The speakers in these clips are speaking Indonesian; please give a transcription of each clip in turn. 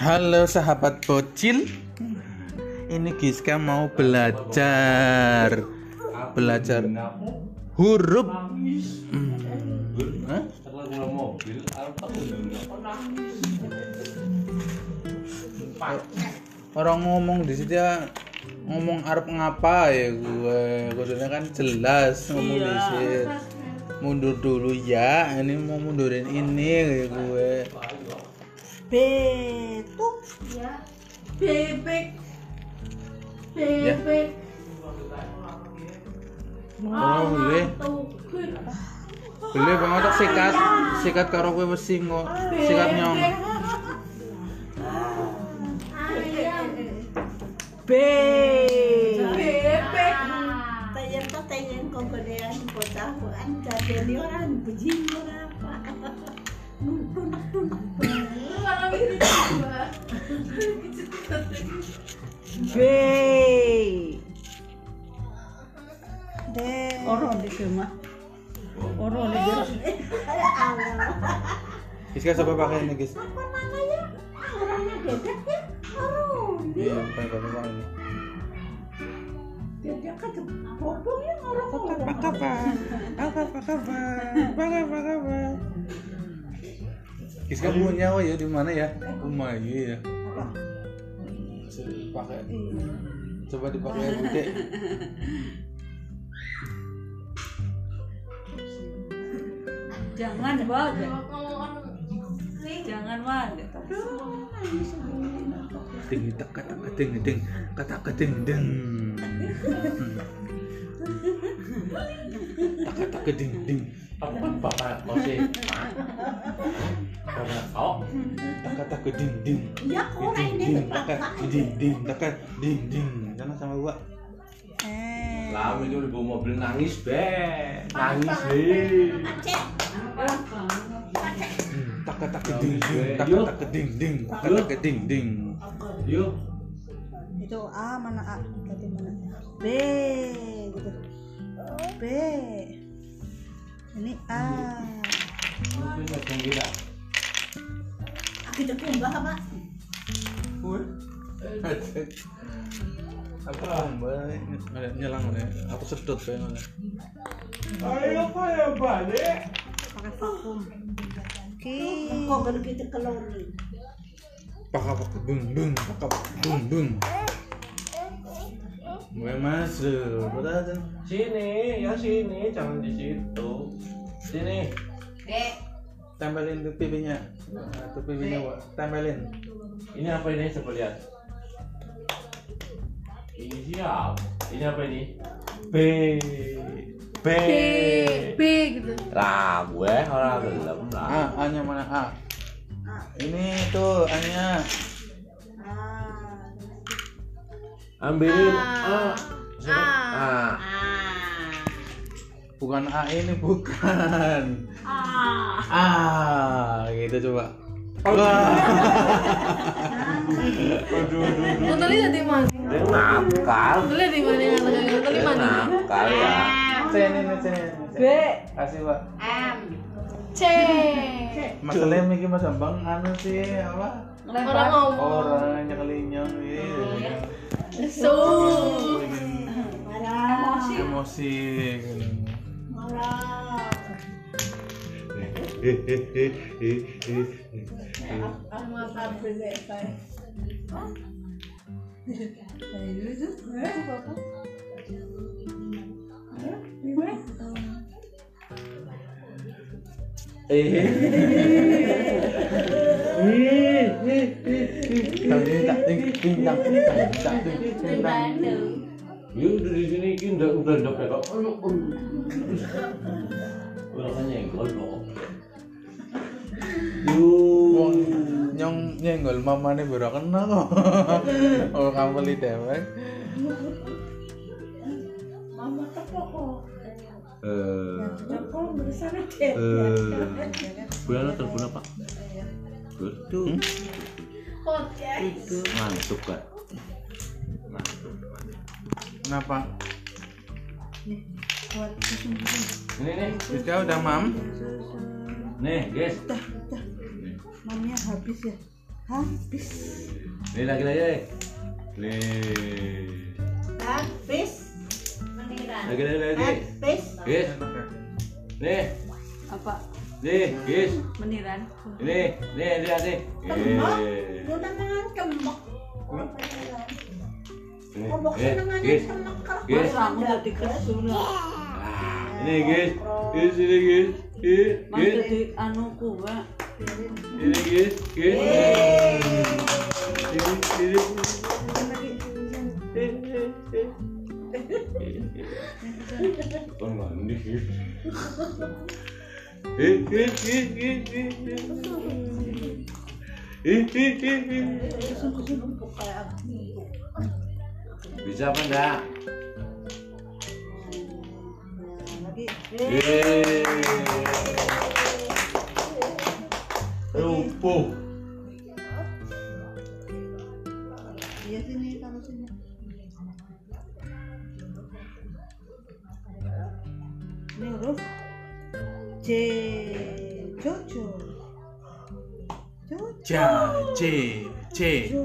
Halo sahabat bocil. Ini Giska mau belajar huruf. Orang ngomong di situ ya, ngomong arep ngapa ya gue. Kudune kan jelas ngomong di situ. Mundur dulu ya, ini mau mundurin ini kayak gue. Betuk ya, bebek. Oh, boleh banget tak sikat karo kowe wesi kok. Sikat nyong. Bebek. Tayen kok gedean bocah bukan jadi orang bejing ora apa. Orang di rumah. Orang di rumah. Giska coba pakai ini, Gis. Apa namanya? Orangnya bebek ya? Orang. Iya, pakai ini. Dia kan bodoh ya orang. Apa kabar? Giska punya ya di mana ya? Rumah ya. Pakai. Coba dipakai Bude. Jangan banget. Jangan banget. Ding kata ding. Kata ding. Apa bapak masih? Bapak kau? Kata ding. Ya kok ini Kata ding. Jangan sama gua. Lama itu di bawah mobil nangis be. Tak ding. Yuk. Itu A mana A? Ganti mana? B gitu. B. Ini A. Mungkin macam gila. Kita kumbah apa? Apa nyelang ya? Aku sedot pengen. Ayo kayak balik. Pakai vakum. Oke. Kok baru kita keluar nih? Pakap bung. Gue masuk. Betul. Sini, jangan di situ. Sini. Tempelin tuh pipinya. Tuh pipinya, Wak. Tempelin. Ini apa ini? Coba lihat. Ini siap. Ini apa ini? B gitu. Lah, gue orang belum lah. A-nya mana A? Ini tuh A-nya. Ambilin A. Bukan A ini, bukan. Gitu coba. Motornya jadi mana? Dia nakal. Motornya di mana? Motornya mana? Nakal ya. Sini. B. Kasih, Pak. M. C. Masalahnya mikir Mas Bambang anu sih apa? Orang ngomong. Orang nyekelinya gitu. So. Emosi. Marah. Yuk dari sini kita udah dapat kok. Orangnya nyenggol kok. Nyong nyenggol mamane baru kena kok. Oh, kamu beli dewek. Mama tepok. Telepon bersama deh. Bulan telepon apa? Betul. Ngantuk kan? Kenapa? Buat Ini nih. Giska udah mam? Nih, guys. Mamnya habis ya. Habis. Nih lagi. Nih. Habis. Lagi. Habis. Guys. Nih. Apa? Nih, guys. Meniran. Nih, lihat nih. Kembang. Lu namanya kembang. Kembang senengan Guys. kembang kerap. Guys. Kamu jadi kesun lah. Ini guys. Ini guys. Mas jadi anu kuwa. Ini guys. Kon mandi. Bisa apa enggak? Lagi. Lumpuh. Iya sini kalau sini. Ini huruf C. Jojo. C.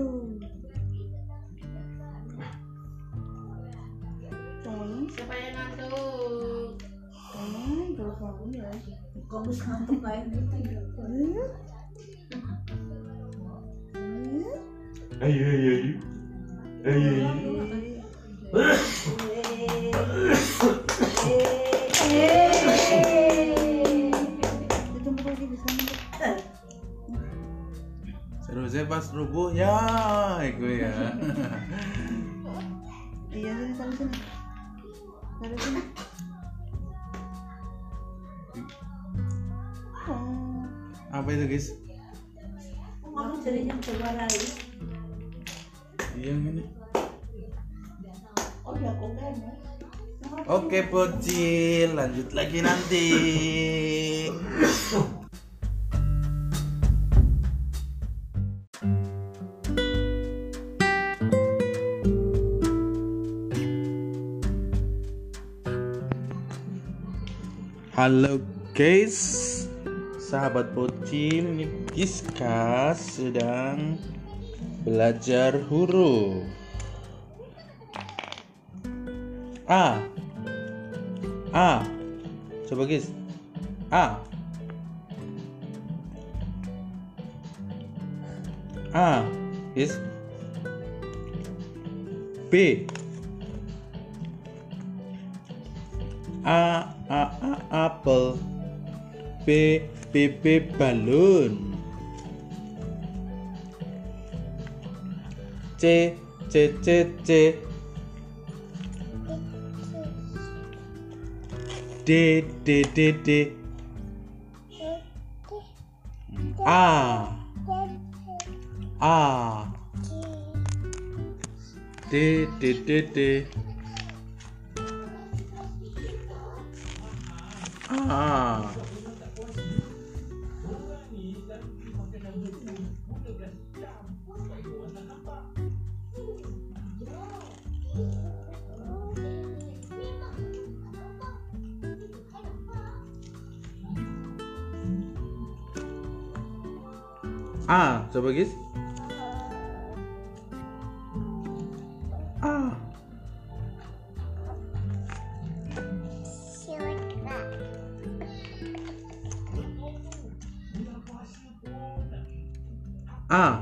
Siapa yang ngantuk? Terus bangun ya. Kamu ngantuk kayak gitu. Ayo. Seharusnya pas rubuh ya, itu ya. Iya sini sama sini. Dari sini. Apa itu guys? Kamu jadinya keluar lagi. Iya ini. Oh ya kok kan ya. Oke bocil, lanjut lagi nanti. Halo guys, sahabat bocil, ini Giska sedang belajar huruf A. Coba guys. A. Guys. B. Apel. B balon. C. D. A. D. Coba guys. A.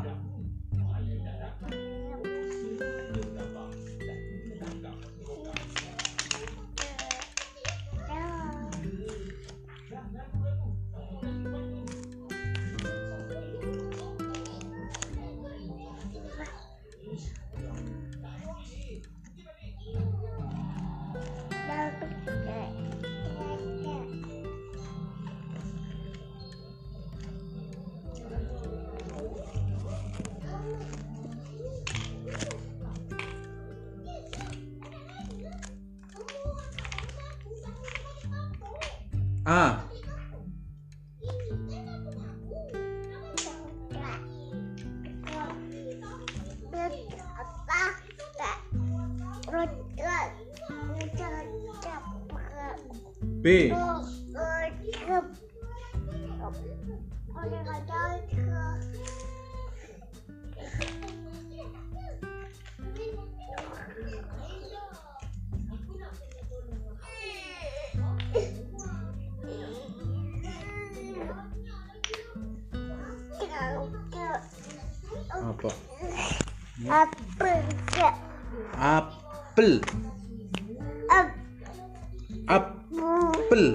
B. Apel. Apel. Apel.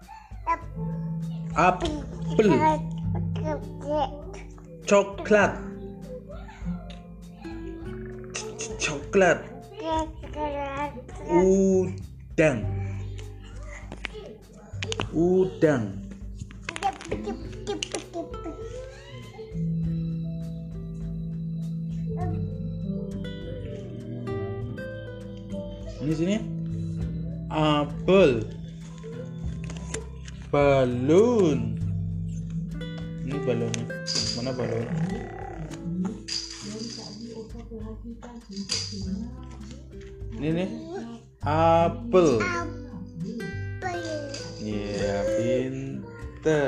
Apel. Coklat. Coklat. Udang. Udang. Ini sini. Apel. Balon. Ini balonnya. Mana balon? Ini nih. Apel. Ya, pinter.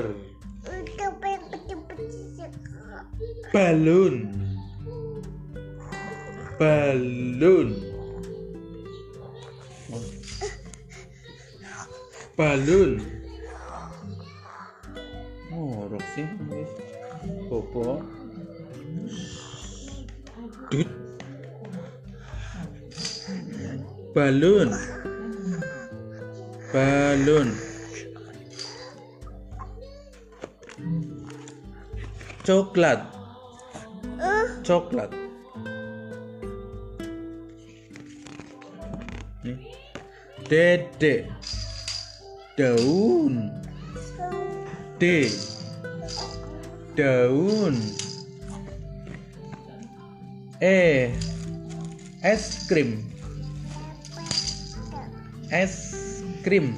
Balon. Balon. Balon. Ngorok sih. Popo. Dut. Balon. Balon. Coklat. Coklat. Nih. Dedek. Daun. D. Daun. E. Es krim. Es krim.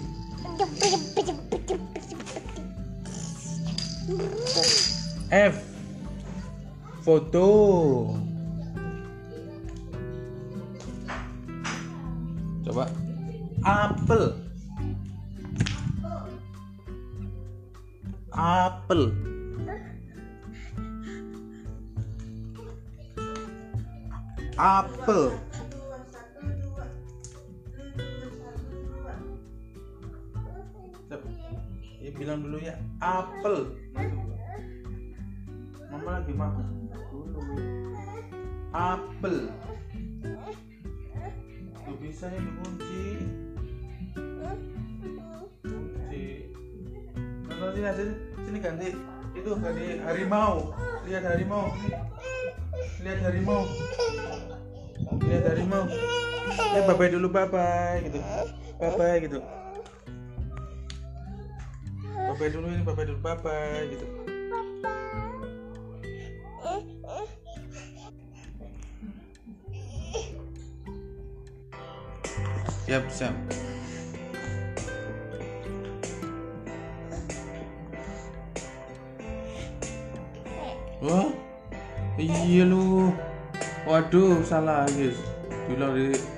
F. Foto. Coba. Apel. Apel. Apel. Ya, bilang dulu ya, apel. Mama lagi makan dulu. Apel. Tuh bisa ya dikunci. Kunci. Nonton sini, sini ganti. Itu ganti harimau. Lihat harimau. Lihat harimau. Lihat harimau. Ya bye bye dulu, bye bye gitu. Bye bye gitu. Bye bye dulu ini, bye bye dulu, bye bye gitu. Siap, siap. Wah, iya lu. Waduh, salah guys. Diulang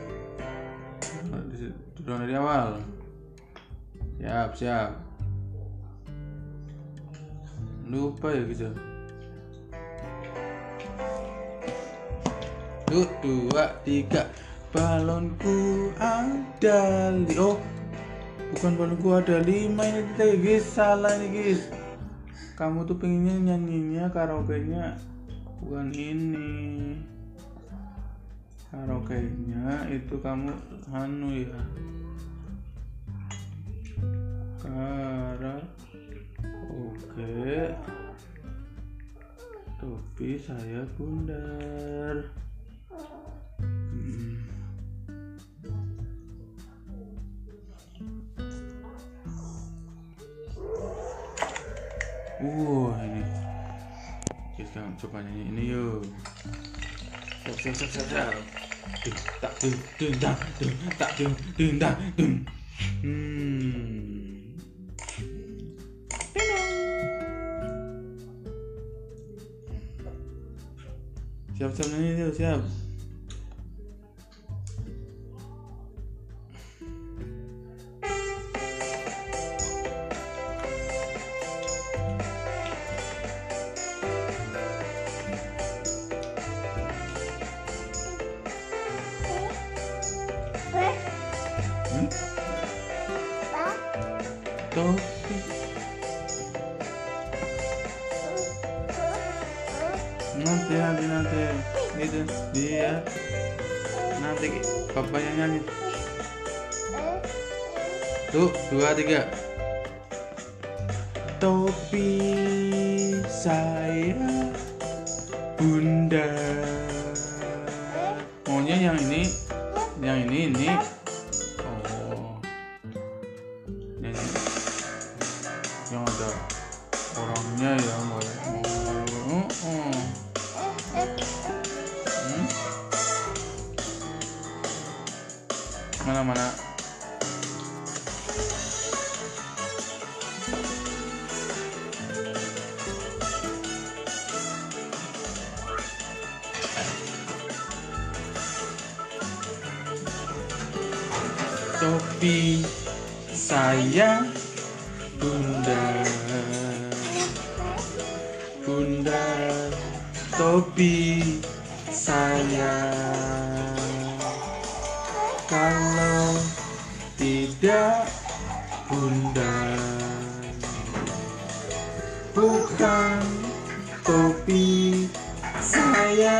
dari awal. Siap, siap. Lupa ya gitu. 1, 2, 3. Balonku ada oh, bukan balonku ada 5 ini guys, salah ini guys. Kamu tuh pengennya nyanyinya karaoke-nya bukan ini. Karaoke-nya itu kamu ya. Karaoke. Topi saya bundar. Ini kita coba ini yuk. Siap. Tak siap ini yuk, siap. Topi. Nanti. gitu dia nanti papa yang nyanyi tuh 2 3 topi saya bunda maunya yang ini oh ini yang ada orangnya ya mana topi saya bunda topi saya kalau tidak bunda bukan topi saya.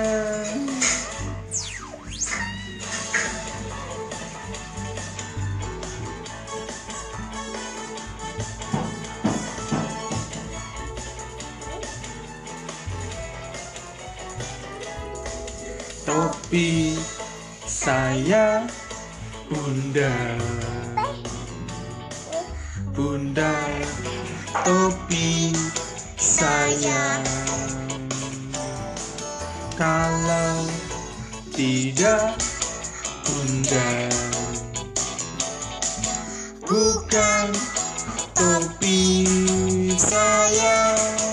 Topi saya bunda topi saya kalau tidak bunda bukan topi saya.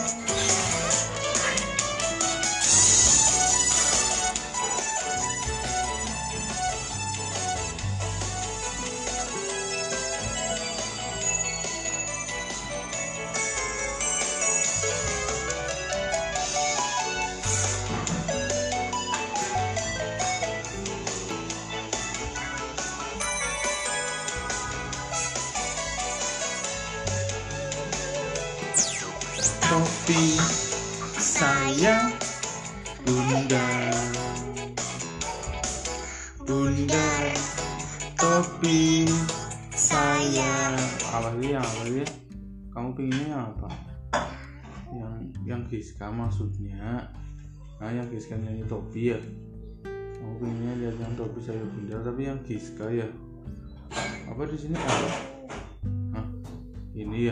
Topi saya bunda topi saya apa sih kamu pinginnya apa yang Giska maksudnya yang Giska nyanyi topi ya kamu pinginnya lihat yang topi saya bunda tapi yang Giska ya apa di sini apa ini ya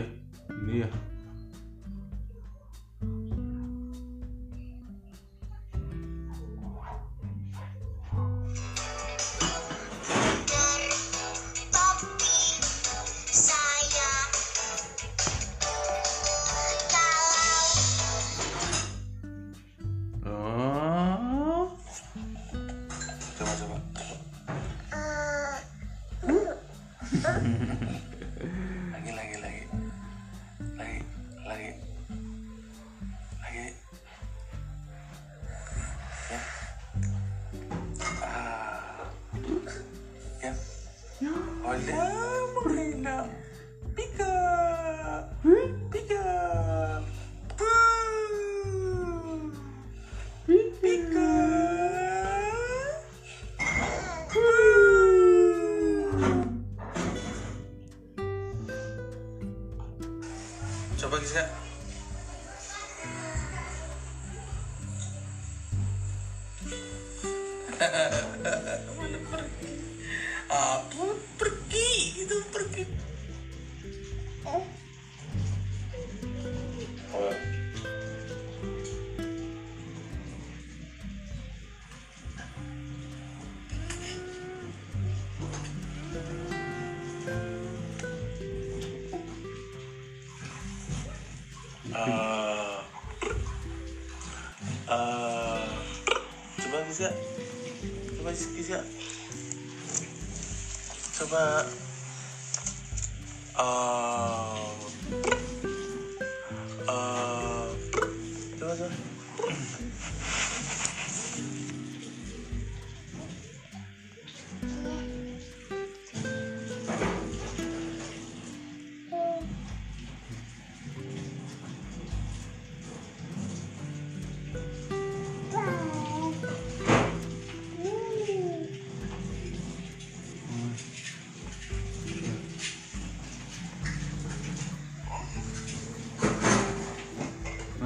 lagi ya hola morena pica coba Giska pergi coba Giska coba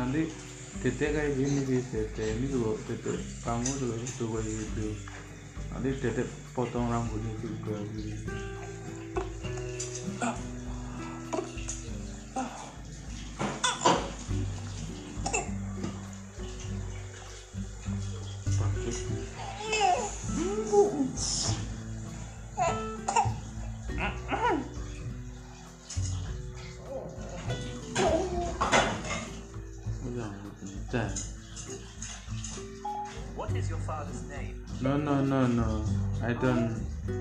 nanti Dede kayak gini sih, Dede ini juga Dede kamu juga itu kayak gitu. Nanti Dede potong rambutnya juga gitu. What is your father's name? No, I don't.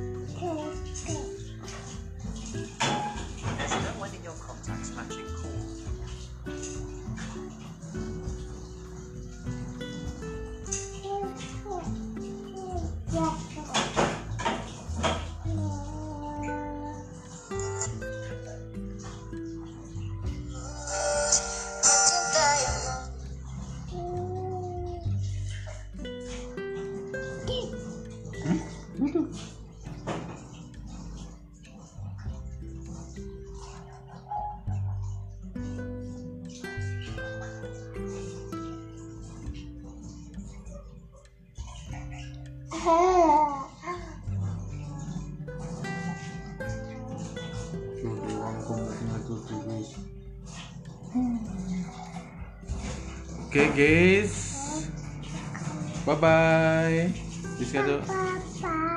There's no one in your contacts matching calls. Oke guys, bye bye. Bisa tuh.